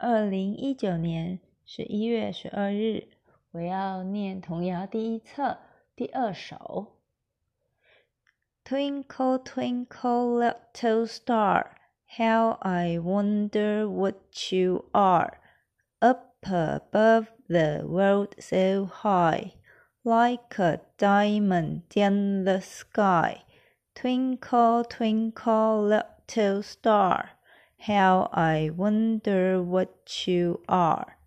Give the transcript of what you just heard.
2019年11月12日，我要念童谣第一册第2首。Twinkle, twinkle, little star, how I wonder what you are. Up above the world so high, like a diamond in the sky. Twinkle, twinkle, little star, how I wonder what you are.